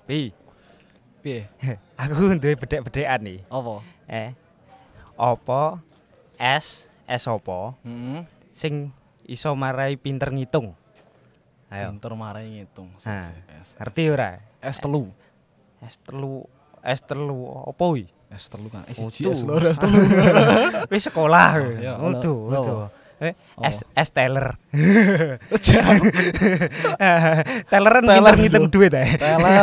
Pi. Piye? Aku duwe bedhek-bedhekan iki. Apa? Apa es apa Heeh. sing iso marai pinter ngitung? Ayo. Pinter marai ngitung. Nah, ngerti ora? S3. S3 apa kuwi? S3 kan. Utuh. S3. Wis sekolah. ya, Utuh. Oh. S teller. Telleran pinter ngitung duit Teller.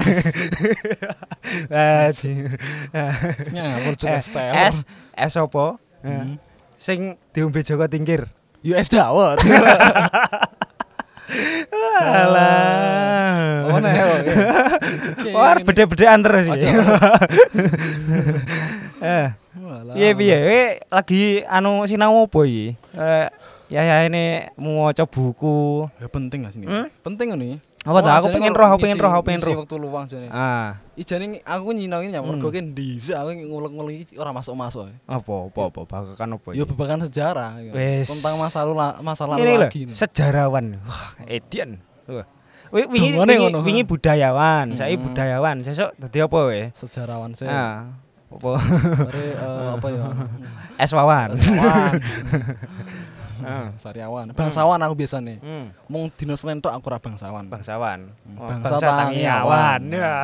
Ngawur juga teller. S apa? Sing diombe Joko Tingkir. US dawet. Alah. Oh nah. Wah, bedhe-bedhean terus iki. Piye lagi sinau apa iki? Ya ini maca buku. Ya penting gak sini? Penting nih. Apa ta? Aku pengen roh. Waktu luang jane. Ijane aku nyinauni ya mergo ki dhisik aku ngulek-ngulek iki ora masuk-masuk. Apa babakan apa? Ya babakan sejarah tentang masa lalu ini lagi. Sejarawan. Wah, Edian. Wingi budayawan, saiki budayawan. Sesuk dadi apa we? Sejarawan sih. Apa? Apa ya? Es wawan. Sariawan. Bangsawan aku biasane. Mung dina Senin tok aku ora bangsawan. Bangsawan. Bangsa Tangiawan. Ya.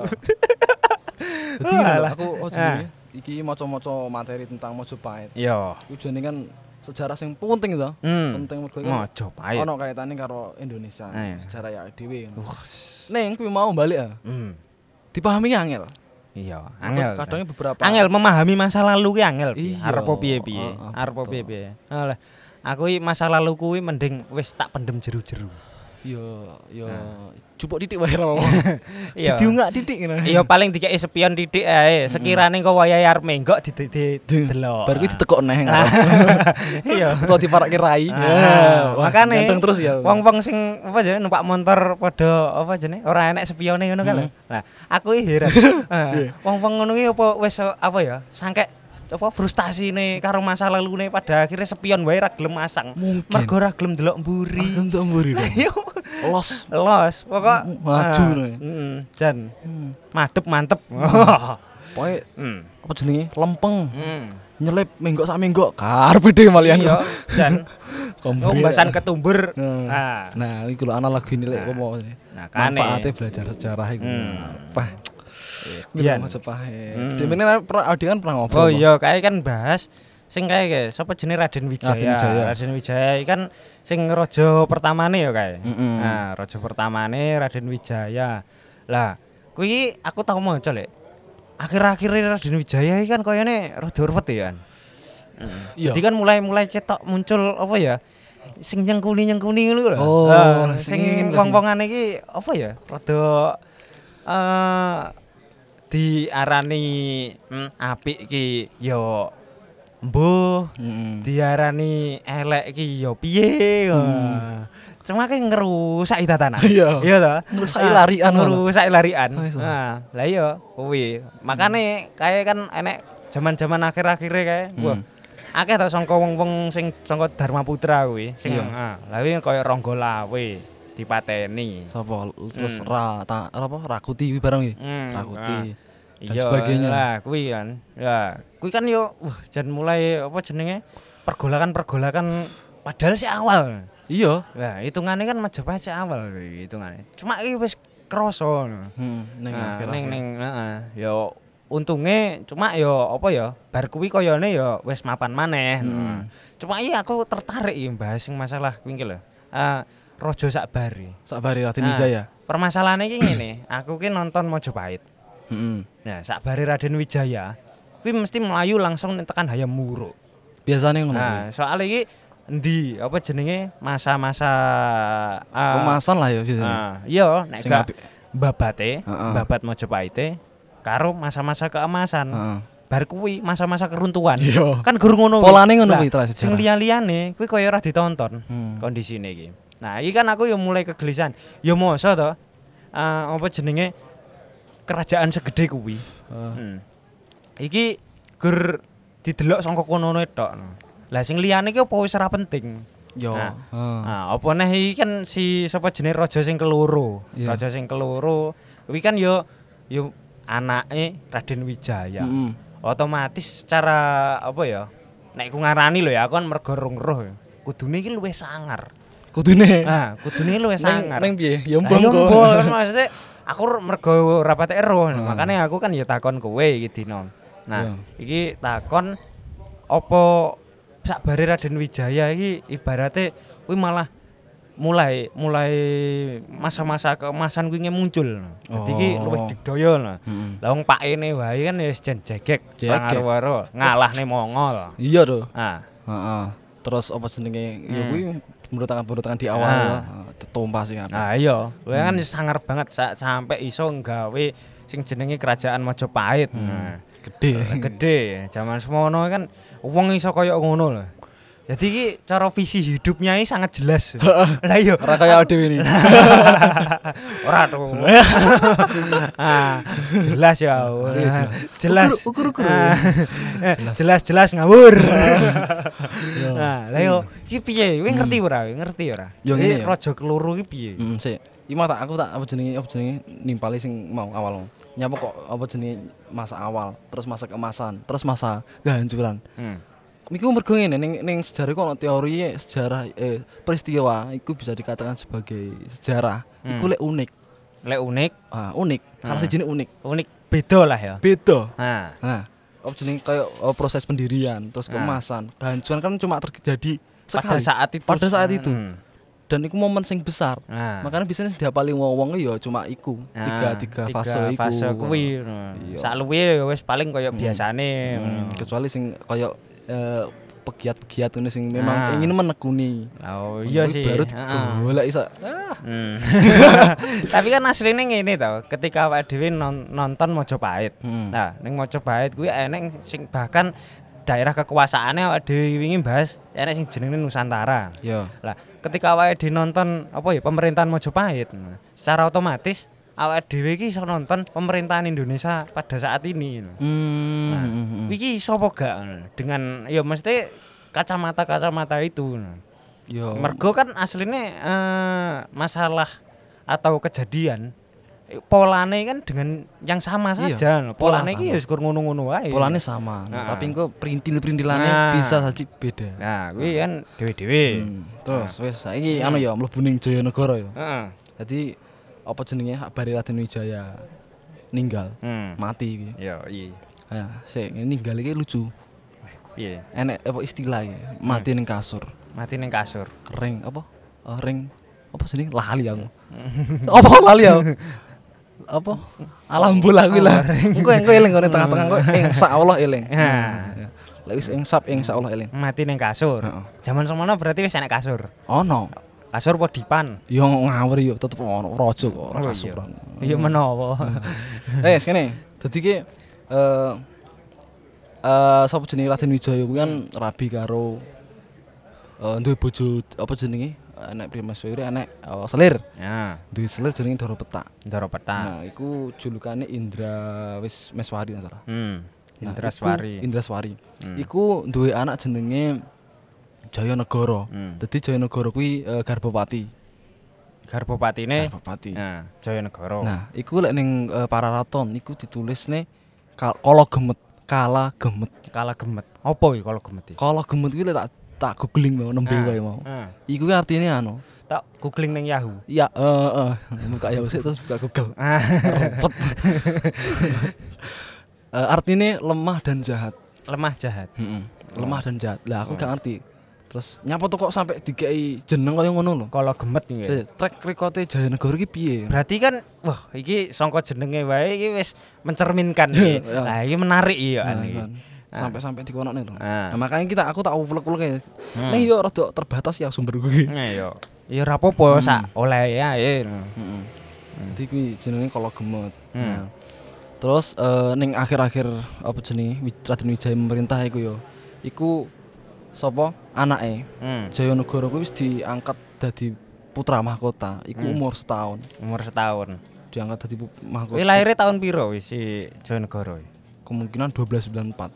Dadi aku jenenge iki maca-maca materi tentang Majapahit. Iya. Tujuane kan sejarah sing penting to. Penting mergo Majapahit. Ono kaitane karo Indonesia. Sejarah ya dhewe. Ning kuwi mau balik ya. Dipahami angel. Iya, angel. Kadangnya beberapa. Angel memahami masa lalu ki angel. Iya. Arep piye-piye. Arep piye-piye. Alah, aku iki masa lalu kuwi mending wis tak pendem jeru-jeru. Iya, cupuk titik wae ora. Iya. Diunggak titik ngono. Iya, paling dikeki spion titik ae. Sekirane kok wayahe arep menggok didelok. Bar kuwi ditekok neh. Iya. Utawa diparake rai. Makane ganteng terus ya. Wong-wong sing apa jenenge numpak motor padha apa jenenge ora enek spione ngono kan. Nah, aku iki heran. Wong-wong ngono ki apa wis apa ya? Sangkek apa frustasine karo masa lalune pada akhirnya spion wae ra gelem masang. Mergo ra gelem ndelok mburi. Ndelok mburi. Los. Pokok maju. Jan. Mantep. Pokoke apa jenenge? Lempeng. Nyelip menggok sak menggok. Karepe dhewe malian. Iya, Jan. Kombasan ketumbur. Nah, iki lho ana lagu ini lek apa. Nah, kane manfaate belajar sejarah iku. Apa? Dian Majapahit. Demene Adi kan pernah ngobrol. Oh iya, kae kan bahas sing kae sapa jenenge Raden Wijaya. Raden Wijaya kan sing raja pertamane ya kae. Nah, raja pertamane Raden Wijaya. Lah, kuwi aku tau maca lek. Akhir-akhir Raden Wijaya iki kan koyone rada ruwet ya kan. Jadi kan mulai cetok muncul apa ya? Sing nyengkuni ngono lho. Sing wong-wongan iki apa ya? Rada diarani apik ki ya mbuh, diarani elek ki ya piye. Cuma ki ngerusak tatanan. Iya to. Ngerusak larian. Nah, lah iya kuwi. Makane kae kan enek jaman-jaman akhir-akhire kae. Wah. Akeh to sangka wong-wong sing sangka Dharma Putra kuwi sing lha kuwi kaya Rangga Lawe dipateni. Sapa? Terus Rakuti kuwi barang iki. Rakuti. Iya sebagainya lah kuwi kan. Ya, kuwi kan yo jan mulai apa jenenge? Pergolakan padahal sih awal. Iya. Nah, hitungane kan Majapahit sih awal hitungane. Cuma iki wis krasa ngono. Ning yo untunge cuma yo apa ya? Bar kuwi koyone yo wis mapan maneh. Cuma iya aku tertarik ya bahas sing masalah kuwi iki lho. Raja Sakbari Raden Wijaya. Permasalahane iki ngene, aku ki nonton Majapahit. Nah, Sakbari Raden Wijaya kuwi mesti melayu langsung tekan Hayam Wuruk. Biasane ngono. Nah, soal iki endi apa jenenge masa-masa kemasan lah ya biasanya. Iya, nek gak babat Majapahit karo masa-masa keemasan. Bar kuwi masa-masa keruntuhan. Kan guru ngono. Polane ngono kuwi terus. Sing liya-liyane kuwi kaya ora ditonton kondisine iki. Nah, iki kan aku yo mulai kegelisahan. Ya mosok to apa jenenge kerajaan segede kuwi. Iki gur didelok saka kono tok. Lah sing liyane iki apa wis ora penting. Yo. Nah, apa neh iki kan si sapa jenenge raja sing keloro. Raja sing keloro kuwi kan yo anake Raden Wijaya. Otomatis secara apa ya? Nek ku ngarani lho ya, aku kan mergo roh kudune iki luwih sangar. Kudune. Nah, kudune luwih sangar. Neng piye? Ya mbong kok. Maksudnya aku mergo rapate ero. Makane aku kan ya takon kowe iki dino. Nah, iki takon apa sakbare Raden Wijaya iki ibarate kuwi malah mulai masa-masa keemasan kuwi muncul. Dadi iki luwih digdaya lho. Lah wong pakene wae kan wis jen jegek karo ngalahne Mongol. Iya to. Heeh. Terus apa jenenge ya kuwi pemberontakan di awal tumpah sing apa. Ah iya, kuwi kan sangar banget sampai iso nggawe sing jenenge kerajaan Majapahit. Gede. Zaman semono kan wong iso kaya ngono lho. Jadi iki cara visi hidupnya ini sangat jelas. Lah iya, ora kaya dhewe ini. Ora to. Jelas ya. Jelas. Ukur-ukur. Jelas ngawur. Nah, lah yo iki piye? Kowe ngerti ora? Ngerti ora? Iki raja keloro iki piye? Sik. Iki mah aku tak apa jenenge nimpali sing mau awal. Nyapa kok apa jenenge masa awal, terus masa keemasan, terus masa kehancuran. Iku mergo ngene ning sejarah kok ono teori sejarah peristiwa iku bisa dikatakan sebagai sejarah. Iku lek unik. Lek unik? Unik. Salah sijine unik. Unik beda lah ya. Beda. Nah, apa jenenge kayak proses pendirian, terus keemasan. Kehancuran kan cuma terjadi sekali pada saat itu. Dan iku momen sing besar. Makanya biasanya diapali wong-wong ya cuma iku. Tiga fase iku. Fase kuwi. Sak luwe wis paling kaya biasane. Kecuali sing kaya pegiat-pegiat ngene sing memang ingin menekuni. Oh iya sih. Baru golek iso. Tapi kan asline ngene to, ketika awake dhewe nonton Majapahit. Nah, ning Majapahit kuwi enek sing bahkan daerah kekuasaane awake dhewe wingi bahas enek sing jenenge Nusantara. Iya. Lah, ketika awake dhewe nonton apa ya pemerintahan Majapahit, secara otomatis awake dhewe iki iso nonton pemerintahan Indonesia pada saat ini. Iki sapa gak dengan ya mesti kacamata itu. Yo. Mergo kan aslinya masalah atau kejadian polane kan dengan yang sama saja. Polane iki ya syukur ngono-ngono wae. Polane sama. Tapi engko perintil-perintilane bisa saja beda. Nah, kuwi kan dhewe-dhewe. Terus wis saiki anu ya mlebu ning Jayanagara ya. Dadi apa jenenge Bari Raden Wijaya ninggal, mati iki. Yo, iya. Ya, sik ninggal iki lucu. Piye? Enek apa istilah iki? Mati ning kasur. Mati ning kasur. Ring apa? Ring apa jenenge? Lali aku. Apa lali aku? Apa? Alhamdulillah kuwi lah. Engko eling ngene tengah-tengah kok insyaallah eling. Lek wis insyaallah eling. Mati ning kasur. Zaman semono berarti wis enek kasur. Ono. Kasur apa dipan? Yo ngawur yo tetep ono raja kok ora kasur. Iya menawa. Kene. Dadi ki sapa jenenge Raden Wijaya kuwi kan rabi karo duwe bojo apa jenenge? Enek primaswiri enek selir. Ya. Duwe selir jenenge Ndara Petak. Ndara Petak. Nah, iku julukane Indra Meswari salah. Indraswari. Iku duwe anak jenenge Jayanagara. Dadi Jayanagara kuwi Garbopati. Garbopatine. Nah, Jayanagara. Nah, iku lek ning Pararaton iku ditulisne Kala Gemet. Apa iki Kala Gemet iki? Kala Gemet kuwi lek tak googling mau nembe wae mau. Iku kuwi artine anu. Tak googling ning Yahoo. Iya, buka Yahoo sik terus buka Google. Repot. Artine lemah dan jahat. Lemah jahat. Lemah dan jahat. Lah aku gak ngerti. Terus nyapa to kok sampai dikei jeneng kaya ngono lho. Kala Gemet iki. Track record-e Jayanagara iki piye? Berarti kan wah iki sangka jenenge wae iki wis mencerminkan iki. Lah iki menarik ya iki. Sampai dikonokne lho. Nah, makanya aku tak uplek-uplek. Ning yo rada terbatas ya sumber kuwi. Iya. Ya ora apa-apa sak oleh ya. Dadi kuwi jenenge Kala Gemet. Nah. Terus ning akhir-akhir apa jenenge Raden Wijaya memerintah iku yo. Iku sapa anake Jayanagara kuwi wis diangkat dadi putra mahkota iku umur setahun diangkat dadi mahkota. Kuwi laire tahun piro wis si Jayanagara? Kemungkinan 1294.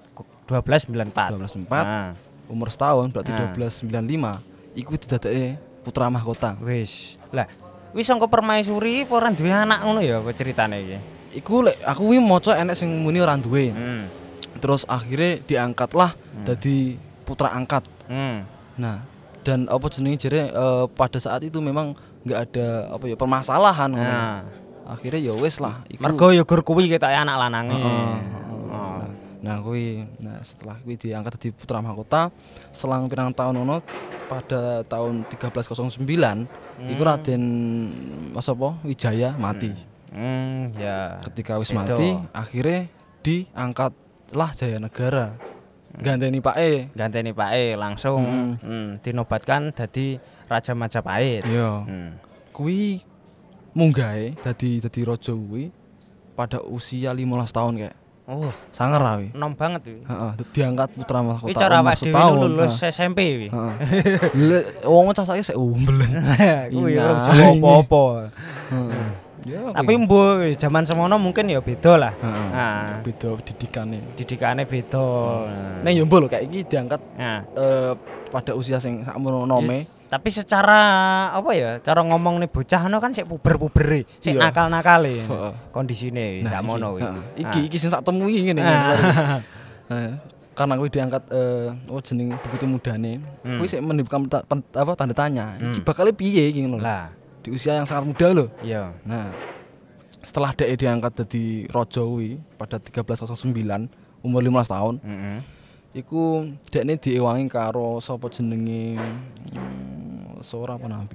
Umur setahun berarti 1295 iku didadekne putra mahkota. Wis. Lah wis sangka permaisuri apa ora duwe anak ngono ya apa ceritane iki? Iku lek aku kuwi maca enek sing muni ora duwe. Terus akhirnya diangkatlah dadi putra angkat. Nah, dan apa jenenge jare pada saat itu memang enggak ada apa ya permasalahan ngono. Akhirnya ya wis lah iku. Mergo ya gur kuwi ketoke anak lanange. Nah, setelah kuwi diangkat dadi putra mahkota, selang pirang tahun ngono pada tahun 1309 iku Raden sapa Wijaya mati. Ya. Ketika wis mati, akhirnya diangkatlah Jayanegara. Ganteni pake langsung dinobatkan dadi Raja Majapahit. Iya. Kuwi munggahe dadi raja kuwi pada usia 15 tahun kayak. Oh, sangar kuwi. Enom banget kuwi. Heeh, diangkat putra mahkota. Iki cara awake dhewe lulus SMP kuwi. Heeh. Wong cah saiki sik umbelen. Kuwi ora jauh apa-apa. Tapi mbuh zaman semono mungkin ya beda lah. Nah, beda didikane beda. Nek yo mbuh lho kayak iki diangkat pada usia sing sakmono nome. Tapi secara apa ya? Cara ngomong nih bocah no kan sik puber-pubere, sik nakal-nakale. Kondisine sak mono kuwi. Iki sing tak temui ngene. Karena kuwi diangkat jeneng begitu mudane. Kuwi sik menimbulkan tanda tanya. Iki bakal piye iki ngono. Lah, di usia yang sangat muda loh. Iya. Nah, setelah dia diangkat jadi raja kuwi pada 1309 umur 15 tahun. Iku dekne diewangi karo sapa jenenge Sora apa Nambi.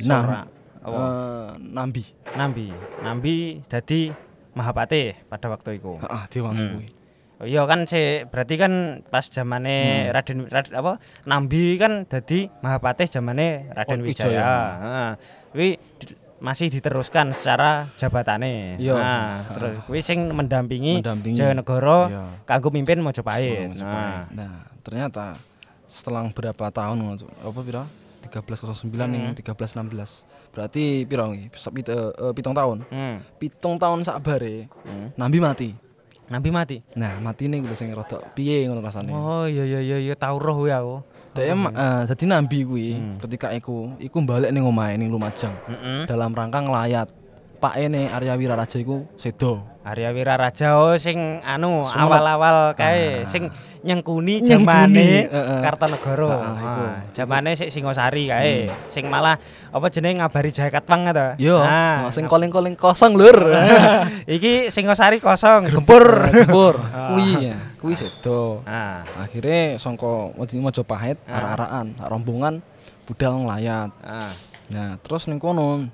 Nambi dadi Mahapatih pada waktu itu. Heeh, diewangi kuwi. Oh iya kan berarti kan pas zamane Raden apa Nambi kan dadi Mahapatih zamane Raden Wijaya. Heeh. Kuwi masih diteruskan secara jabatane. Nah, terus kuwi sing mendampingi Jayanegara kanggo mimpin Majapahit. Nah, ternyata setelah berapa tahun apa pira? 1309 ning 1316. Berarti pira iki? 7 tahun. 7 tahun sakbare Nambi mati. Nah, matine kuwi sing rada piye ngono rasane. Oh iya tau roh kuwi aku. Dadi Nambi kuwi ketika iku balik ning omahe ning Lumajang. Dalam rangka nglayat. Pakene Arya Wiraraja iku sedo. Arya Wiraraja sing awal-awal kae sing nyengkuni zamane Kartanegara. Zamane sik Singosari kae. Sing malah apa jenenge ngabari Jayakatwang ta. Yo, sing koling-koling kosong lur. Iki Singosari kosong, gempur. Kuwi sedo. Akhire sangka Majapahit arek-arakan, rombongan budal nglayat. Nah, terus ning kono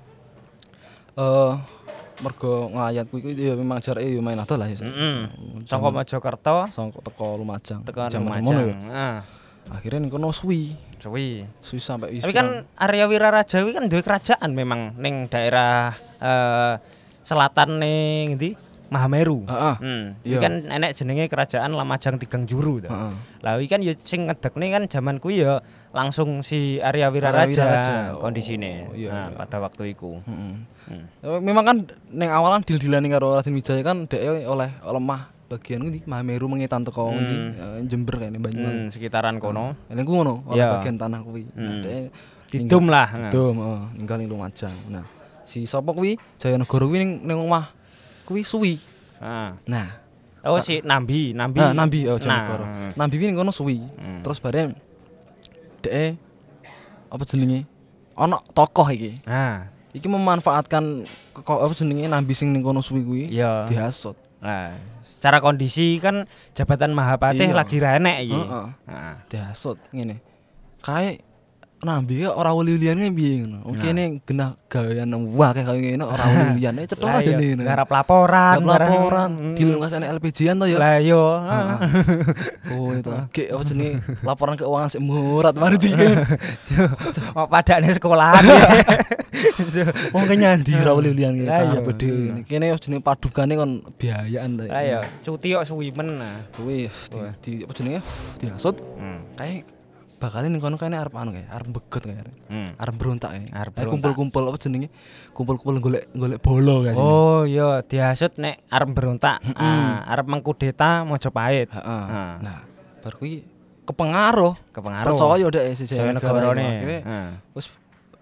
mergo nglayat kuwi ya memang jarake ya main adoh lah ya. Sangka Mojokerto, sangka teko Lumajang. Zaman mono ya. Akhirnya ning kono suwi sampai wis. Tapi kan Arya Wiraraja kuwi kan duwe kerajaan memang ning daerah selatan ning ndi? Mahameru. Iki kan enek jenenge kerajaan Lamajang Tigang Juru to. Lah iki kan ya sing ngedekne kan zaman kuwi ya langsung si Arya Wiraraja kondisine. Pada waktu iku. Memang kan ning awalan dil-dilan karo Raden Wijaya kan dhek oleh lemah bagian ngendi Mahameru mengetan teko ngendi Jember kene Banyuwangi sekitaran kono. Ning ku ngono oleh bagian tanah kuwi. Dhek didum lah. Didum, ninggal ning Lumajang. Nah, si sapa kuwi Jayanegara kuwi ning omah kuwi suwi. Nah, si Nambi. Jayanegara. Nambi kuwi ning kono suwi. Terus bare dhek apa jenenge? Ana tokoh iki. Iki memanfaatkan apa jenenge Nambi sing ning kono suwi kuwi dihasut. Nah, secara kondisi kan jabatan Mahapatih lagi ra enek iki. Dihasut ngene. Kae Nambi ora wali-waliane piye ngono. Kene genah gawean wae kaya ngene ora wali-waliane cetha dene. Garap laporan, dilungkasane LPG-an to ya. Lah yo. Oh itu. Ge apa jenenge laporan keuangan sik murat mari iki. Oh padane sekolahan. Wong nyandi ora wali-waliane kabeh dhewe. Kene jenenge padukane kon biayaan to. Lah yo, cuti kok suwi men. Kuwi di apa jenenge dihasut. Kae bakal ning kono kene arep anu kae, arep beget kae. Arep berontak kae. Kumpul-kumpul apa jenenge? Kumpul-kumpul golek bolo kae. Oh iya, dihasut nek arep berontak. Arep mengkudeta Majapahit. Nah, bar kuwi kepengaruh. Percaya dhek si Jayanegara. Wis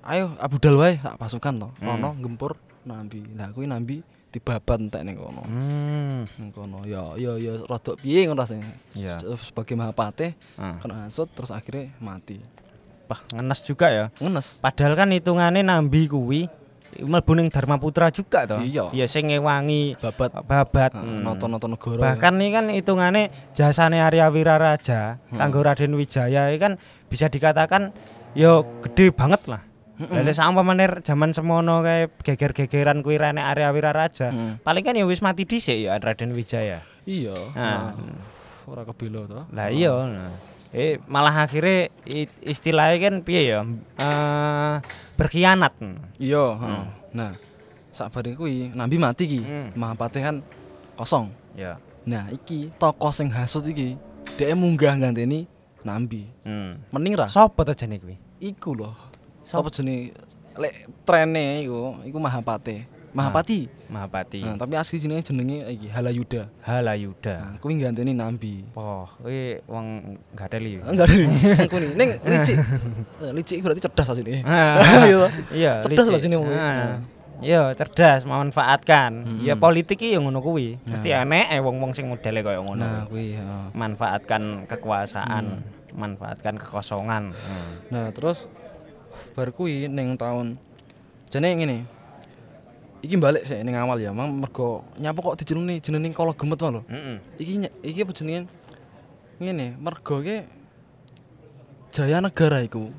ayo Abu Dal wae sak pasukan to. Rono gempur nambi. Lah kuwi nambi dibabat entek ning kono. Ning kono ya rada piye ngono rasane. Iya. Sebagai Mahapatih kena hasut terus akhirnya mati. Wah, ngenes juga ya. Ngenes. Padahal kan hitungane nambi kuwi mlebu ning Dharma Putra juga to. Iya. Ya sing ngewangi babat. Nonton negara. Bahkan ini kan hitungane jasane Arya Wiraraja kanggo Raden Wijaya iki kan bisa dikatakan yo gede banget lah. Lah sama menir zaman semono kae geger-gegeran kuwi rene Arya Wiraraja. Paling kan ya wis mati dhisik ya Raden Wijaya. Iya. Nah, ora kebela to. Lah iya. Malah akhirnya istilahnya kan piye ya? Berkhianat. Iya, Nah, sakbare kuwi nambi mati iki. Mahapatih kan kosong. Ya. Nah, iki tokoh sing hasut iki dhek munggah ganteni nambi. Mending ra. Sopo to jane kuwi? Iku lho. Sapa jenenge lek trene iku Mahapatih. Mahapati. Mahapati. Tapi asli jenenge iki Halayuda. Halayuda. Nah, kuwi ganteni nambi. Oh, kuwi wong gadeli. Enggak ada sangkuni. Ning licik. Licik berarti cerdas asline. Iya, cerdas lah jenenge. Iya, cerdas memanfaatkan. Ya politik iki ya ngono kuwi. Mesti enek wong-wong sing modele kaya ngono. Nah, kuwi manfaatkan kekuasaan, manfaatkan kekosongan. Nah, terus bar kuwi ning taun jane ngene. Iki balik sik ning awal ya, mergo nyapa kok jenenge Kala Gemet wae lho. Iki apa jenenge? Ngene, mergo ki Jaya Negara iku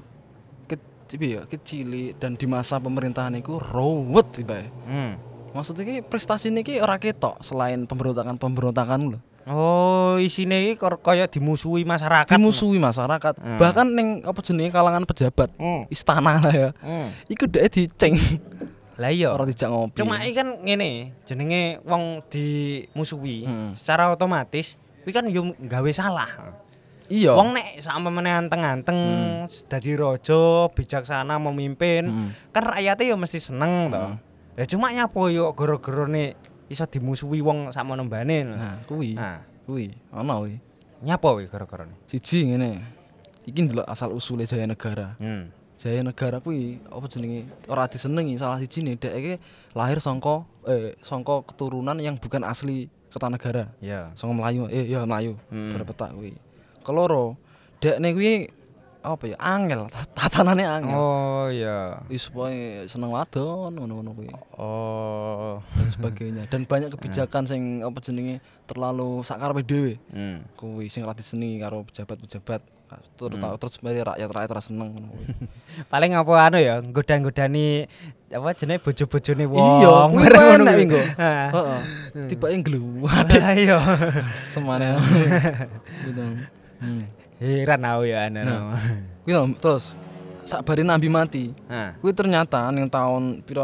kecil dan di masa pemerintahan iku ruwet tibae. Maksudnya ki prestasine ki ora ketok selain pemberontakan lho. Oh, isine iki kaya dimusuhi masyarakat. Bahkan ning apa jenenge kalangan pejabat, istana lah ya. Iku dhek diceng. Lah iya. Ora dijak ngopi. Cuma iki kan ngene, jenenge wong dimusuhi secara otomatis kuwi kan yo gawe salah. Iya. Wong nek sampamane anteng-anteng dadi raja, bijaksana memimpin, kan rakyate yo mesti seneng to. Ya cuma nyapo yo gara-garane iso dimusuhi wong sakmono mbane. Nah, kuwi ana kuwi. Nyapo kuwi gara-garane? Siji ngene. Iki ndelok asal usule Jaya Negara. Jaya Negara kuwi apa jenenge ora disenengi salah sijine dhek iki lahir saka keturunan yang bukan asli Kertanegara. Iya. Saka Melayu. Melayu. Berpetak kuwi. Keloro, dekne kuwi apa ya? Angel, tatanane angel. Oh iya. Wis pokoke seneng wadon ngono-ngono kuwi. Oh, dan sebagainya. Dan banyak kebijakan sing apa jenenge terlalu sakarepe dhewe. Kuwi sing ora diseni karo pejabat-pejabat. Terus rakyat ora seneng ngono kuwi. Paling apa anu ya, nggoda-nggodani apa jenenge bojo-bojone wong. Iya, kuwi enak kuwi nggo. Heeh. Tibake ngluwat. Iya. Semane. Gitu. Heran aku ya anu. Kuwi terus sakbare Nambi mati. Kuwi ternyata ning taun pira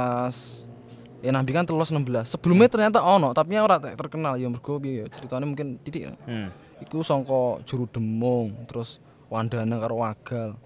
13 Nambi kan 16. Sebelumnya ternyata ono, tapi ora terkenal ya mergo piye ya ceritane mungkin titik. Iku sangka Juru Demung, terus Wandana karo Wagal.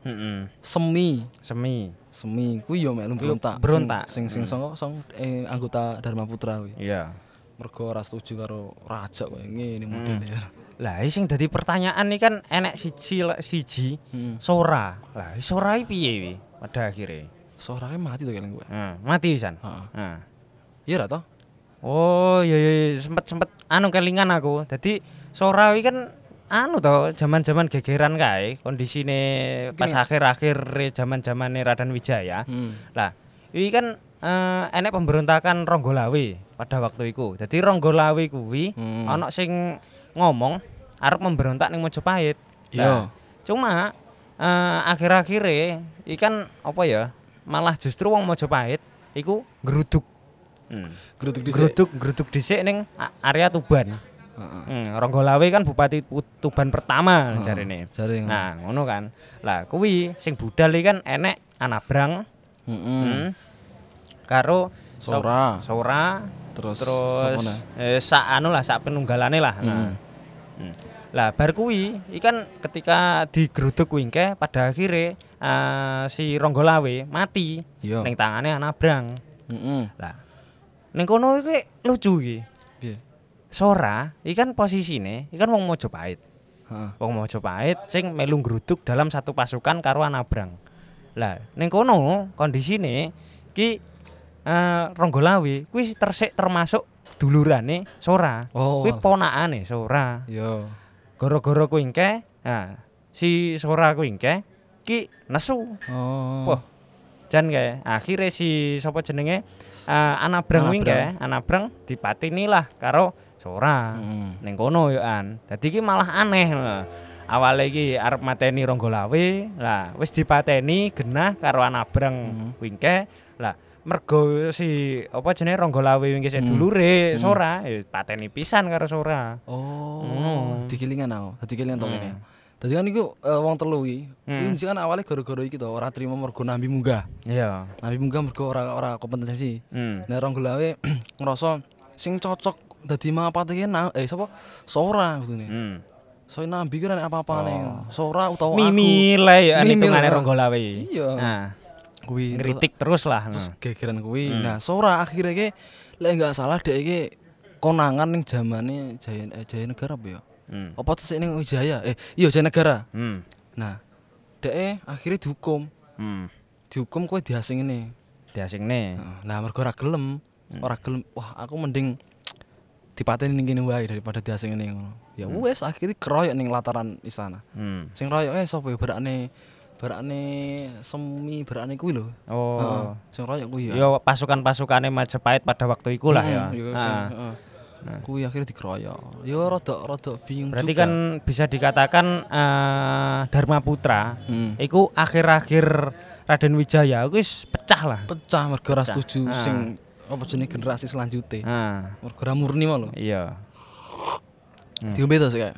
Semi kuwi ya melu berontak. Sing sangka anggota Dharma Putra kuwi. Iya. Mergo ora setuju karo raja koyo ngene modele. Lah sing dadi pertanyaan iki kan enek siji Sora. Lah Sora iki piye wi pada akhire? Sora mati to keling kowe. Mati pisan. Heeh. Iya ra to? Oh, iya sempet anu kelingan aku. Dadi Sora iki kan anu to zaman-zaman gegeran kae kondisine pas akhir-akhir zaman-zamane Raden Wijaya. Lah, iki kan enek pemberontakan Ronggolawe pada waktu iku. Dadi Ronggolawe kuwi ana sing ngomong arep memberontak ning Majapahit. Iya. Cuma akhir-akhire iki kan apa ya? Malah justru wong Majapahit iku ngruduk. Ngruduk dhisik ning area Tuban. Ronggolawe kan Bupati Tuban pertama jarene. Nah, ngono kan. Lah kuwi sing budal iki kan enek Anabrang. Karo Sora terus sak penunggalane lah. Lah bar kuwi ikan ketika digeruduk kuwi pada akhirnya si Ronggolawe mati ning tangane Anabrang. Lah ning kono iki lucu iki. Piye? Sora ikan posisine ikan wong Majapahit. Wong Majapahit sing melu ngruduk dalam satu pasukan karo Anabrang. Lah ning kono kondisine ki Ronggolawe kuwi termasuk dulurane Sora. Oh. Kuwi ponakane Sora. Yo. Gara-gara kuwi engke, si Sora kuwi engke ki nesu. Oh. Wah. Jan kae akhire si sapa jenenge Anabrang kuwi engke, Anabrang dipateni lah karo Sora. Ning kono yo an. Dadi ki malah aneh lho. Awale iki arep mateni Ronggolawe, lah wis dipateni genah karo Anabrang kuwi engke. Lah mergo si apa jenenge Ronggolawe wingi sik dulure Sora ya pateni pisan karo Sora. Oh. Dikelingan aku. Dadi kelingan to ngene. Dadi kan iku wong telu iki. Kuwi kan awale gara-gara iki to ora trimo mergo nambi munggah. Iya. Nambi munggah mergo ora kompetensi. Nah Ronggolawe ngerasa sing cocok dadi mapate ki sapa? Sora maksudnya. So nambi ki ora apa-apane. Sora utawa aku. Mimile ya hitungane Ronggolawe. Iya. Nah. Kuwi ngritik terus lah. Terus gegeran kuwi. Nah, Sora akhirnya ki lek enggak salah dhek iki konangan ning jamane Jaya Negara apa ya? Apa tesih ning Wijaya? Iya Jaya Negara. Nah, dhek akhirnya dihukum. Dihukum kowe diasingne. Nah, mergo ora gelem. Wah, aku mending dipateni ning kene wae daripada diasingne ngono. Ya wis akhirnya keroyok ning lataran istana. Sing royoke sapa ya Barane semi barane kuwi lho. Oh. Sing royok kuwi ya. Ya pasukan-pasukane Majapahit pada waktu iku lah ya. Heeh. Kuwi akhirnya dikeroyok. Ya rada bingung berarti juga. kan bisa dikatakan Dharma Putra iku akhir-akhir Raden Wijaya wis pecah lah. Pecah mergo ora setuju sing apa jenenge generasi selanjutnya. Mergo ora murni mah lho. Iya. Diombe to sik.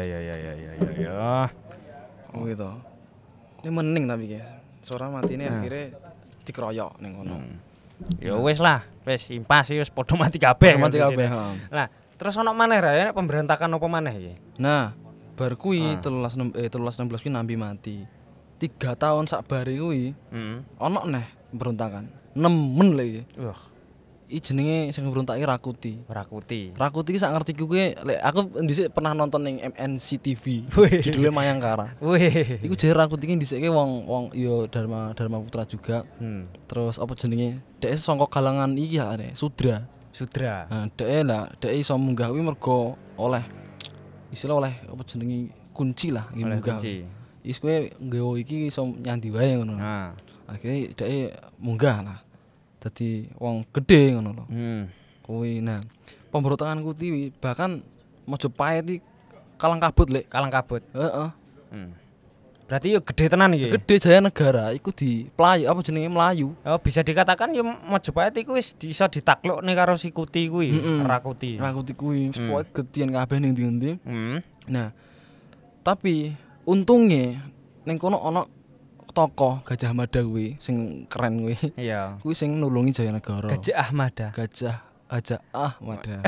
Ya. Kuwi to. Ini mening tapi ki. Sora matine akhirnya dikeroyok ning kono. Ya wis lah, wis impas wis padha mati kabeh. Mati kabeh, Lah, terus ono maneh ra ya pemberontakan apa maneh iki? Nah, bar kuwi 1316 kuwi nambi mati. 3 tahun sak bare kuwi. Ono neh pemberontakan. Nemen lho iki. Wah, iki jenenge sing berontake Rakuti. Rakuti ki sak ngertiku kuwi lek aku dhisik pernah nonton ning MNC TV. Judulnya Mayangkara. Wih. Iku jare Rakuti ki dhisike wong ya Dharma Putra juga. Terus apa jenenge? Dhek saka kalangan iki ya Sudra. Nah, dhek iso munggah kuwi mergo oleh istilah oleh apa jenenge kunci lah iki munggah. Wis kowe nggawa iki iso nyandi wae ngono. Akhire dhek munggah lah. Dadi wong gedhe ngono lho. Kuwi nah pemberontakan kuwi bahkan Majapahit iki kalang kabut lek. Heeh. Berarti yo gedhe tenan iki. Gedhe Jaya Negara iku diplayu apa jenenge mlayu. Oh, bisa dikatakan yo Majapahit iku wis iso ditaklukne karo si Kuti kuwi, Rakuti. Rakuti kuwi pokoke gedhian kabeh ning ndi-endi. Nah, tapi untungnya ning kono ana tokoh Gajah Mada kuwi sing keren kuwi. Iya. Kuwi sing nulungi Jaya Negara. Gajah Mada. Gajah Mada.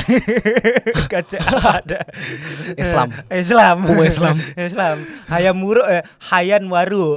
Islam. Hayam Muruk Hayan Waru.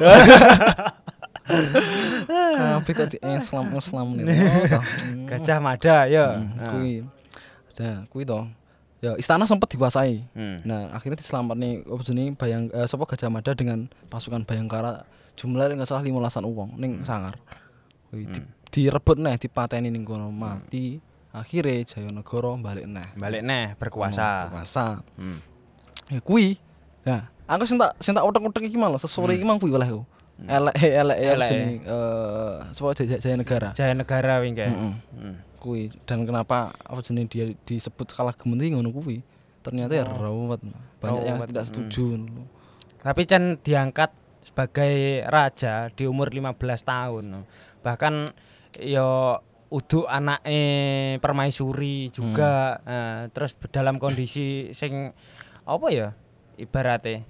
Kabeh kok di Islam niku. Gajah Mada ya. Kuwi. Nah, kuwi to. Ya istana sempat dikuasai. Nah, akhirnya diselamatne apa jenenge sapa Gajah Mada dengan pasukan Bayangkara jumlahnya enggak salah 15-an wong ning Sangar. Kuwi direbut neh dipateni ning kono mati. Akhirnya Jaya Negara balik neh berkuasa. Ya kuwi. Nah, aku sing tak utek-utek iki malah sesore iki mang kuwi oleh aku. Elek jenenge sapa Jaya Negara. Jaya Negara wingi. Kuwi dan kenapa apa jenenge dia disebut kalah gemendi ngono kuwi. Ternyata ya rawat. Banyak yang tidak setuju. Tapi Chan diangkat sebagai raja di umur 15 tahun. Bahkan yo uduk anake permaisuri juga terus dalam kondisi sing apa ya ibarate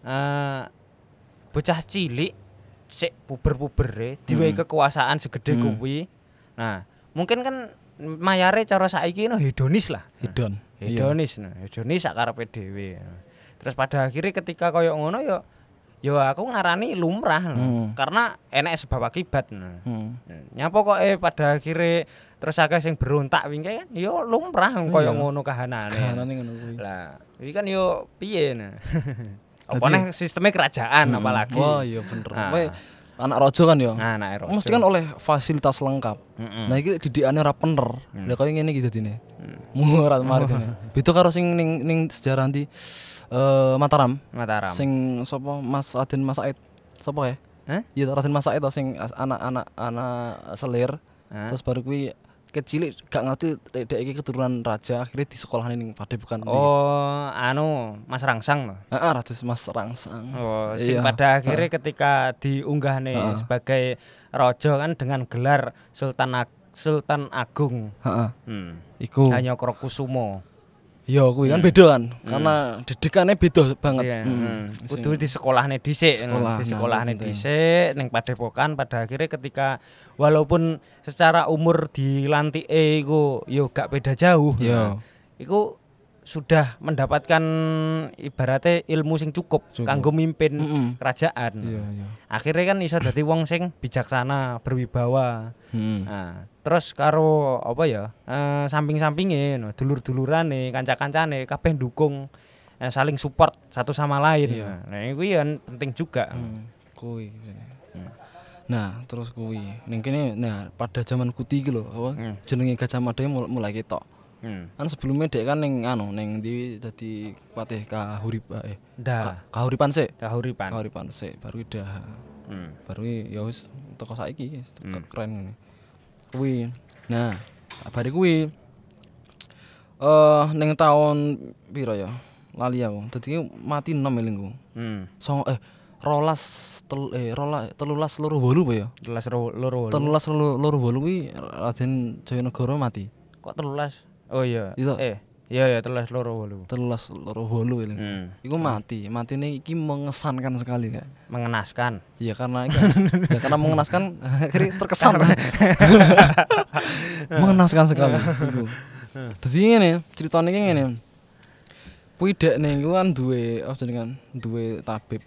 bocah cilik sik puber-pubere diwehi kekuasaan segede kuwi. Nah, mungkin kan mayare cara saiki hedonis lah. Hedonis sak karepe dhewe. Terus pada akhirnya ketika koyo ngono yo aku ngarani lumrah karena enek sebab akibat. Nyapa kok pada akhirnya terus akeh sing berontak wingi kan yo lumrah koyo ngono kahanane. Kahanane ngono kuwi. Lah, iki kan yo piye nah. Apa neh sistemnya kerajaan apalagi. Oh iya bener. anak raja kan ya. Nah, anak raja. Mesti kan oleh fasilitas lengkap. Nah iki didikane ora bener. Lah koyo ngene iki dadine. Murat marit ini. Beda karo sing ning sejarah nanti Mataram. Sing sapa Mas Raden Mas Said. Sapa ya? Iya Raden Mas Said sing anak selir. Terus baru kuwi kecil gak ngerti dek iki keturunan raja akhirnya di sekolahan ning Padepokan. Oh, anu Mas Rangsang loh. Heeh, Raden Mas Rangsang. Oh, sing pada akhirnya ketika diunggah nih sebagai raja kan dengan gelar Sultan Agung. Heeh. Iku Hanyokrokusumo. Ya kuwi kan beda kan. Karena didikannya beda banget. Kudu di sekolahne dhisik, di sekolahne dhisik ning Padepokan pada akhirnya ketika walaupun secara umur dilantike iku yo gak beda jauh. Iku sudah mendapatkan ibaratnya ilmu sing cukup kanggo mimpin kerajaan. Akhirnya kan iso dadi wong sing bijaksana, berwibawa. Nah, terus karo apa ya? Samping-sampinge dulur-dulurane, kanca-kancane kabeh ndukung saling support satu sama lain. Nah, kuwi kan penting juga. Kuwi. Nah, terus kuwi ning kene pada zaman Kuti iki lho, apa jenenge Gajah Mada mulai ketok. Kan sebelumnya dek kan ning ndi dadi patih Kahuripan sik. Kahuripan sik baru dah. Baru ya wis teko saiki keren ngene. Kuwi. Nah, bare kuwi ning taun piro ya? Lali aku. Dadi mati 6 elingku. 13 loro 8 apa ya? 13 loro 8 kuwi Raden Jayanegara mati. Kok 13? Oh iya. Iya 13 loro 8. 13 loro 8 ini. Iku mati. Matine iki mengesankan sekali kayak. Mengenaskan. Iya karena karena mengenaskan akhirnya terkesan. Mengenaskan sekali iku. Dadi ngene, critane iki ngene. Kuwi dekne iku kan duwe duwe tabib.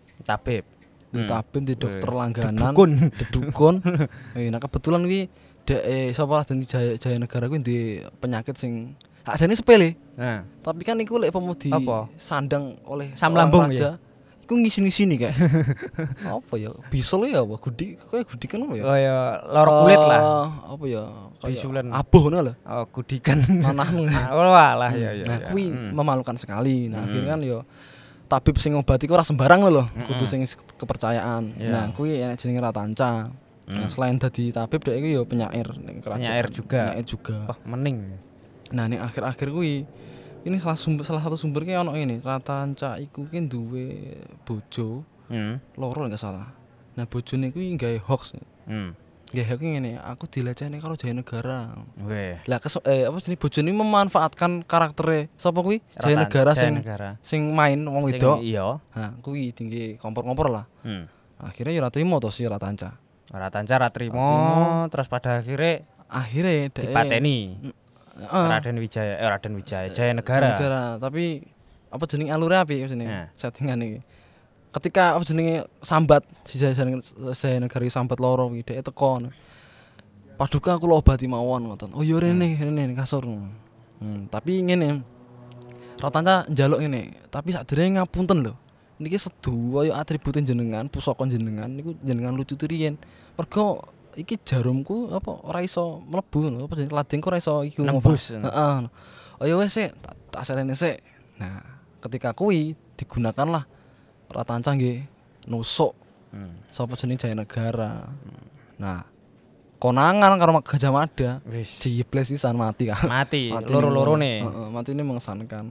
Di dokter langganan, dedukun. Nah kebetulan kuwi sapa Raden Jayanegara kuwi duwe penyakit sing ajane sepele. Tapi kan iku lek pemudi sandang oleh asam lambung ya. Iku ngisi-ngisini kayak. Apa ya? Bisul ya apa? Gudikan apa ya? Oh ya, lor kulit lah. Apa ya? Bisulan. Aboh ngono lho. Oh, gudikan. Manahmu. Oh alah ya. Nah, kuwi memalukan sekali. Nah, akhirnya kan ya tabib sing ngobati ku ora sembarang lho. Kudu sing kepercayaan. Nah, kuwi enek jenenge Ratanca. Nah, selain dadi tabib dhek iki ya penyair ning kerajaan. Penyair juga. Wah, mening. Nah, ning akhir-akhir kuwi ini salah satu sumber ki ono ngene, Ratanca iku ki duwe bojo. Loro enggak salah. Nah, bojone kuwi gawe hoax. Gawe hoax ngene, aku dilecehne karo Jayanegara. Weh. Lah apa jenenge bojone memanfaatkan karaktere sapa kuwi? Jayanegara sing main wong wedok. Iya. Nah, kuwi tinggi kompor-kompor lah. Akhirnya ya ora trimo to si Ratanca. Ratanca ra trimo, terus pada akhirnya dipateni. Raden Wijaya Jayanegara. Tapi apa jenenge alure apik jenenge settingan iki. Ketika apa jenenge sambat si Jayanegara sambat loro iki dhek teko. Paduka kula obati mawon ngoten. Oh ya rene kasur. Tapi ngene. Ratanca njaluk ngene, tapi sakderenge ngapunten lho. Niki sedu kaya atribute jenengan, pusaka jenengan niku jenengan lucu riyen. Mergo iki jarumku apa ora iso mlebu apa jenenge ladengku ora iso iki nembus. Heeh. Oh ya wis sik, tak serene sik. Nah, ketika kuwi digunakanlah Ratanca nggih nusuk sapa jenenge Jayanegara. Nah, konangan karo Gajah Mada. Jibles pisan mati kan. Mati loro-lorone. Heeh, matine mengesankan.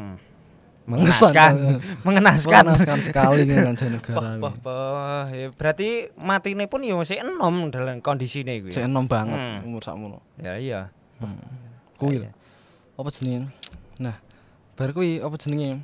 Mengenaskan sekali dengan Jayanegara. Ya berarti matine pun ya masih enom dalam kondisine kuwi. Masih enom banget umur sakmono. Ya iya. Kuwi. Apa jenenge? Nah, bar kuwi apa jenenge?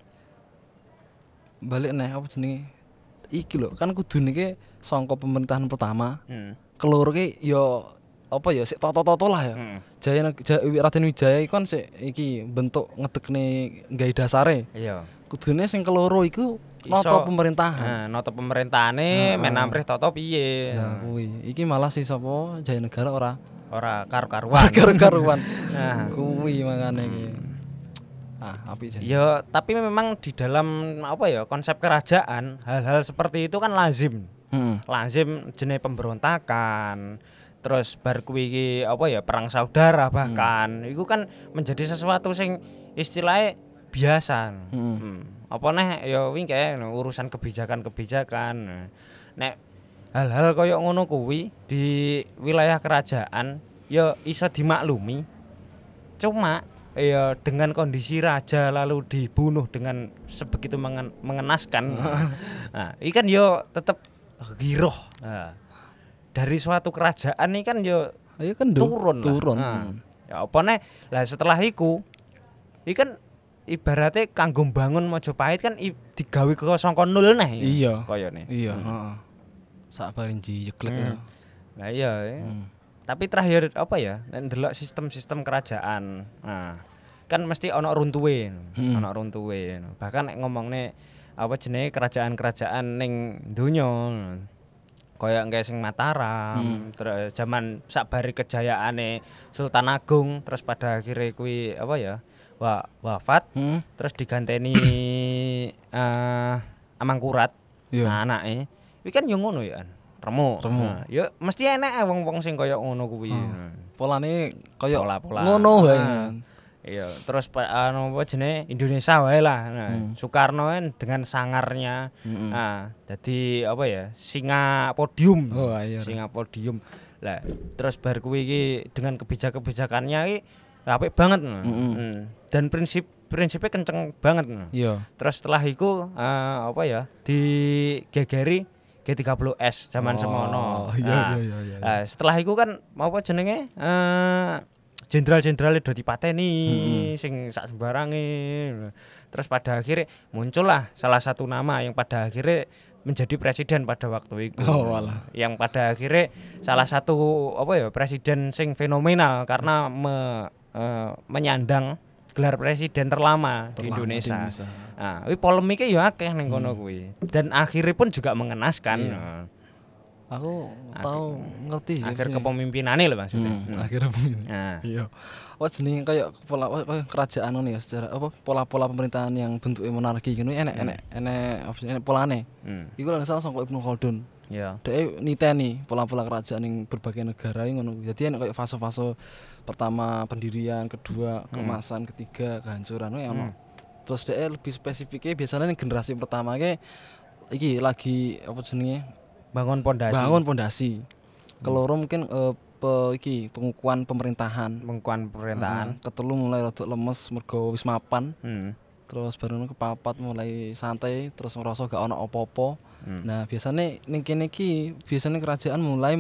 Balik neh apa jenenge? Iki lho, kan kudune ki sangka pemerintahan pertama. Keloro ki ya apa ya sik toto-toto lah ya. Raden Wijaya iku kan sik iki bentuk ngedekne gawe dasare. Iya. Kudune sing keloro iku nata pemerintahan. Nata pemerintahane menamrih toto piye. Nah, kuwi. Iki malah si sapa Jayanegara ora karu-karuan. Nah, kuwi makane iki. Apik jan. Ya, tapi memang di dalam apa ya konsep kerajaan hal-hal seperti itu kan lazim. Lazim jenenge pemberontakan. Terus bar kuwi iki apa ya perang saudara bahkan. Iku kan menjadi sesuatu sing istilahnya biasa. Apa neh ya wingi kae urusan kebijakan-kebijakan. Nek hal-hal kaya ngono kuwi di wilayah kerajaan ya iso dimaklumi. Cuma ya dengan kondisi raja lalu dibunuh dengan sebegitu mengenaskan. Nah, iki kan yo tetep giroh. Nah, dari suatu kerajaan ini kan yo kan turun. Nah, ya apa nih? Lah setelah iku iki kan ibaratnya kanggo bangun Majapahit kan digawe ke saka nol neh. Iya. Koyone. Iya, heeh. Sak bareng jeglek. Lah iya. Tapi terakhir apa ya? Nek ndelok sistem-sistem kerajaan. Nah, kan mesti ana runtuhe. Bahkan nek ngomongne apa jenenge kerajaan-kerajaan ning donya. Kaya engke sing Mataram, terus zaman sakbari kejayaane Sultan Agung, terus pada akhirnya kuwi apa ya? Wafat, terus diganteni Amangkurat. Nah, anake. Kuwi kan yo ngono ya. Remo. Nah, ya mesti enek wong-wong sing kaya ngono kuwi. Polane kaya pola-pola ngono wae. Iya, terus apa jenenge Indonesia wae lah. Nah, Soekarno kan dengan sangarnya. Nah, dadi apa ya? Singa podium. Oh, iya. Singa podium. Lah, terus bar kuwi iki dengan kebijakan-kebijakannya iki apik banget. Dan prinsipnya kenceng banget. Iya. Terus setelah iku apa ya? Digegeri G30S zaman semono. Iya. Nah, setelah iku kan apa jenenge jenderal-jenderal do dipateni sing sak sembarange. Terus pada akhirnya muncullah salah satu nama yang pada akhirnya menjadi presiden pada waktu itu. Yang pada akhirnya salah satu apa ya presiden sing fenomenal karena menyandang gelar presiden terlama di Indonesia. Nah, kuwi polemiknya ya akeh ning kono kuwi. Dan akhirnya pun juga mengenaskan. Aku tahu ngerti sih. Akhir kepemimpinane lho maksudnya. Akhir kepemimpinan. Nah. Iya. Jenenge kayak pola kerajaan ngono ya secara apa pola-pola pemerintahan yang bentuknya monarki ngono enek polane. Iku lek salah saka Ibnu Khaldun. Iya. Dhek niteni pola-pola kerajaan ning berbagai negara ngono. Jadi enek kayak fase-fase pertama pendirian, kedua kemasan, ketiga kehancuran ono. Terus dhek lebih spesifiknya biasanya ning generasi pertama iki lagi apa jenenge bangun pondasi. Keloro mungkin pengukuhan pemerintahan. Ketelu mulai rada lemes mergo wis mapan. Terus baru kepapat mulai santai terus ngerasa gak ono apa-apa. Nah, biasanya ning kene iki biasanya kerajaan mulai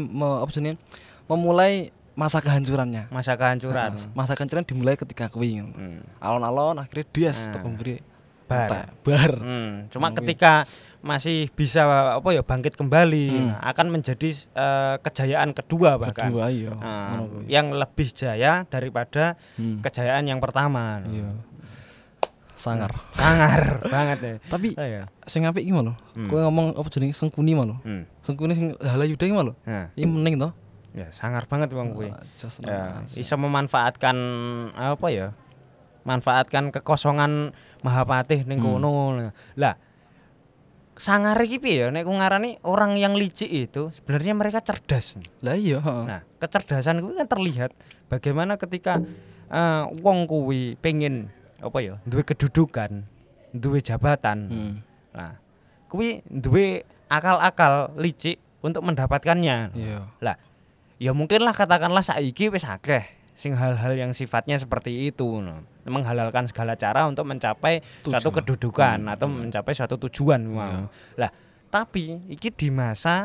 memulai masa kehancurannya. Masa kehancuran dimulai ketika kuwi. Alon-alon akhirnya dias pemberi bar. Cuma ketika masih bisa apa ya bangkit kembali akan menjadi kejayaan kedua bahkan. Iya. Yang lebih jaya daripada kejayaan yang pertama. Iya. Sangar banget ya. Tapi sing apik iki lho. Kowe ngomong apa jenenge Sengkuni lho. Sengkuni sing Halayuda iki lho. Iki meneng to. Ya, sangar banget wong kuwi. Bisa memanfaatkan apa ya? Manfaatkan kekosongan Mahapatih ning kono. Lah, sangar iki piye ya nek ku ngarani orang yang licik itu sebenarnya mereka cerdas. Lah iya, Nah, kecerdasan kuwi kan terlihat bagaimana ketika wong kuwi pengen apa ya, duwe kedudukan, duwe jabatan. Nah, kuwi duwe akal-akal licik untuk mendapatkannya. Iya. Lah, ya mungkinlah katakanlah saiki wis akeh sing hal-hal yang sifatnya seperti itu menghalalkan segala cara untuk mencapai suatu kedudukan atau mencapai suatu tujuan Lah, tapi iki di masa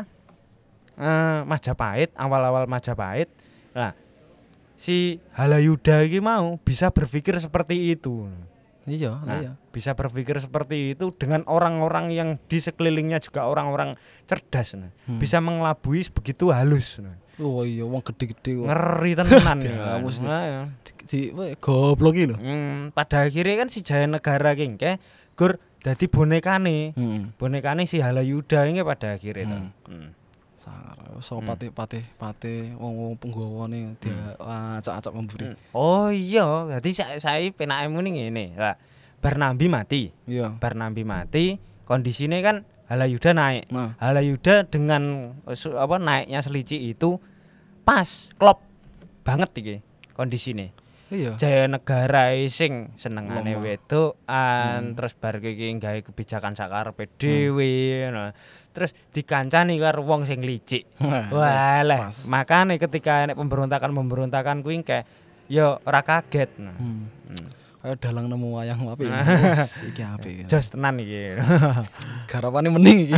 Majapahit, awal-awal Majapahit. Nah, si Halayuda iki mau bisa berpikir seperti itu. Iya, bisa berpikir seperti itu dengan orang-orang yang di sekelilingnya juga orang-orang cerdas. Bisa mengelabui begitu halus. Oh iya, wong gede-gede kok. Ngeri tenan ya. Di goblok iki lho. Pada akhirnya kan si Jaya Negara ki gur dadi bonekane. Bonekane si Halayuda iki pada akhirnya sangar so patih wong penggawane dia acak-acak memburi. Oh iya, dadi saya penake muni ngene. Lah, bar Nambi mati. Iya. Bar Nambi mati, kondisine kan Halayuda naik. Nah. Halayuda dengan naiknya Selici itu pas klop banget iki kondisine. Iya. Jayanegara sing senengane Lemah. wedokan terus bar iki gawe kebijakan sakarepe dhewe. Nah, terus dikancani karo wong sing licik. Walah, makane ketika nek pemberontakan kuwi kayak ya ora kaget. Nah. Kayak dalang nemu wayang apik. Iki apik. Jos tenan iki. Garapane mending iki.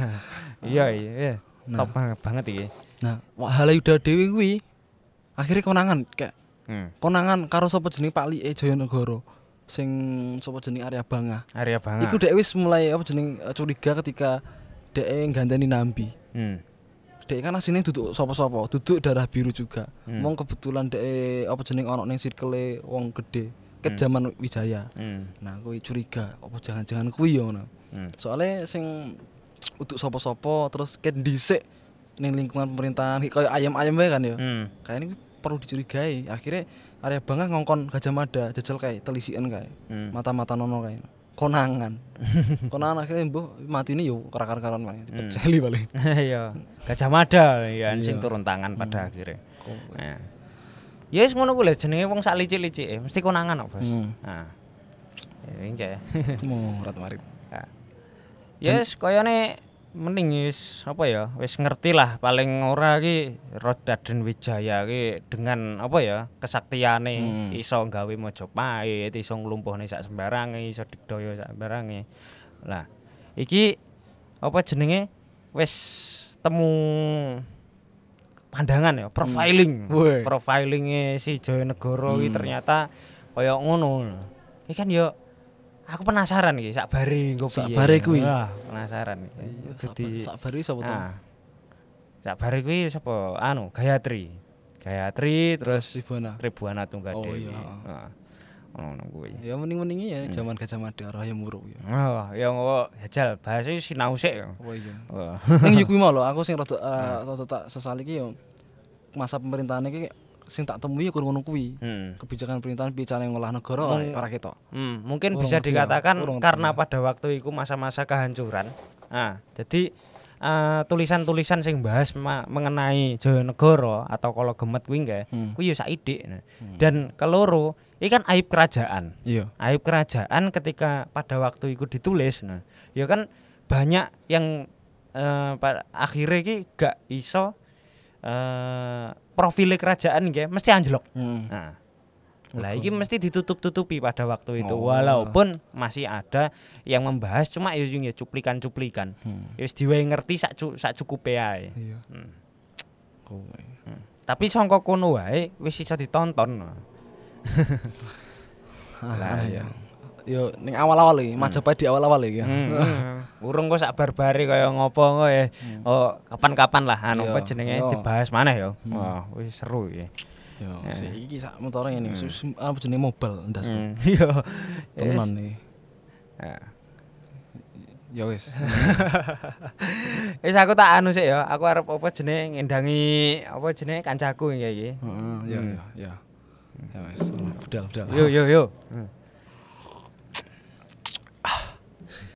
Iya. Top banget iki. Nah, Halayuda dhewe kuwi akhirnya konangan kayak konangan karo sapa jeneng Pak Like Jayanegara sing sapa jeneng Arya Bangah. Arya Bangah. Iku dek wis mulai curiga ketika dek ngganteni Nambi. Dek kan asline duduk sapa-sapa, duduk darah biru juga. Mong kebetulan dek ono ning circle wong gede ket zaman Wijaya. Nah, kuwi curiga apa jangan-jangan kuwi ya ngono. Soale sing uduk sapa-sapa terus ket dhisik ning lingkungan pemerintahan kayak ayam-ayam wae kan ya. Kayaknya ini perlu dicurigai. Akhirnya Arya Bangah ngongkon Gajah Mada jajal kayak telisian kayak mata-mata nono kayak konangan. Konangan akhirnya mbuh matine yo karan-karan wae dipeceli paling. Iya. Gajah Mada ya sing turun tangan pada akhirnya. Nah. Ya wis ngono kuwi lho jenenge wong sak licik-licike mesti konangan kok, Bos. Nah. Ya engke. Murat marit. Nah. Ya wis koyone mending wis wis ngerti lah paling ora iki Raden Wijaya iki dengan kesaktiane iso gawe Majapahit, iso nglumpuhne sak sembarange, iso digdaya sak sembarange. Lah, iki wis temu pandangan ya, profiling. Profilinge si Jayanegara iki ternyata kaya ngono. Iki kan ya aku penasaran iki sakbare engko piye. Sakbare kuwi. Wah, penasaran iki. Dadi sakbare sapa to? Sakbare kuwi sapa? Gayatri. Gayatri terus Tribuana Tunggadewi. Oh iya. Heeh. Ngono kuwi. Ya mending-mendinge ya zaman Gajah Mada Rahaya Muruk ya. Oh, ya jajal bahasa sinau sik ya. Oh iya. Wah. Ning yo kuwi mau lho aku sing rada tak sesali iki yo masa pemerintahan iki sing tak temui ya ngono kuwi. Kebijakan pemerintahan piye cara ngolah negara ora ketok. Mungkin bisa dikatakan karena pada waktu itu masa-masa kehancuran. Nah, jadi tulisan-tulisan sing bahas mengenai Jayanegara atau Kala Gemet kuwi kuwi ya saidik. Dan keloro iki kan aib kerajaan. Iya. Aib kerajaan ketika pada waktu itu ditulis. Nah, ya kan banyak yang akhirnya iki gak iso profil kerajaan nggih mesti anjlok. Nah. Lah iki mesti ditutup-tutupi pada waktu itu. Walaupun masih ada yang membahas cuma ya cuplikan-cuplikan. Ya wis diwehi ngerti sak cukupe ae. Iya. Tapi sangka kono wae wis iso ditonton. Lah ya. Yo ning awal-awal iki, Majapahit di awal-awal iki. Urung kok sak barbare kaya ngopo kok ya. Oh, kapan-kapan lah apa jenenge dibahas maneh ya. Wah, wis seru iki. Yo, iki sak motore ngene apa jenenge mobile ndasku. Iya. Tenan iki. Ya wis. Wis aku tak anu sik ya. Aku arep ngendangi kancaku iki. Heeh, ya. Ya wis. Budal. Yo.